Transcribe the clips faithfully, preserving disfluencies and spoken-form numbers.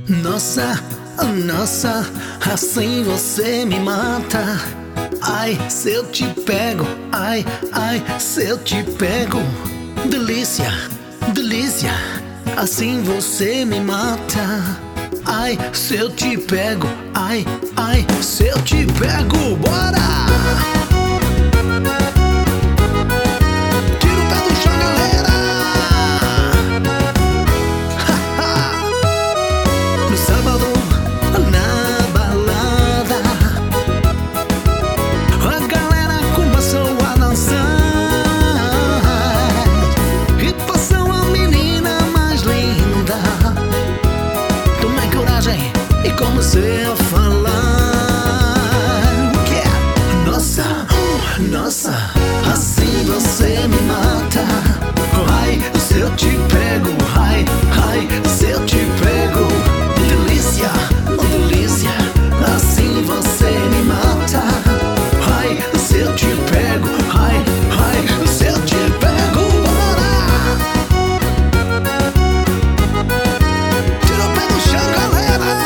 Nossa, nossa, assim você me mata. Ai, se eu te pego, ai, ai, se eu te pego. Delícia, delícia, assim você me mata. Ai, se eu te pego, ai, ai, se eu te pego, bora! Comecei a falar o que é? Nossa, nossa, assim você me mata. Ai, se eu te pego, ai, ai, se eu te pego. Delícia, oh delícia, assim você me mata. Ai, se eu te pego, ai, ai, se eu te pego, bora! Tira o pé do chão, galera!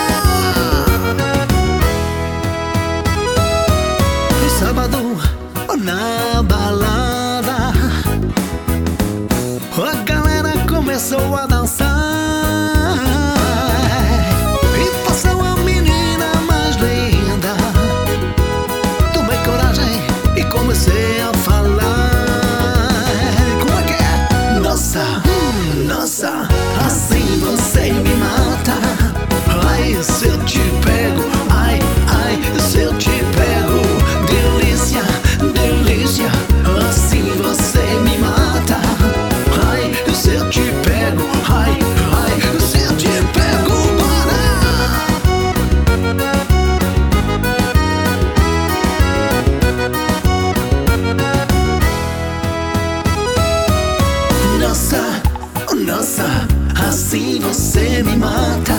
Sábado na balada, a galera começou a dançar e passou a menina mais linda. Tomei coragem e comecei a falar. Como é que é? Nossa, nossa, assim você me mata. Ai, se eu te pego, ai, ai, se eu te pego. Delícia, delícia, assim você me mata. Ai, se eu te pego, ai, ai, se eu te pego, bora! Nossa, nossa, assim você me mata.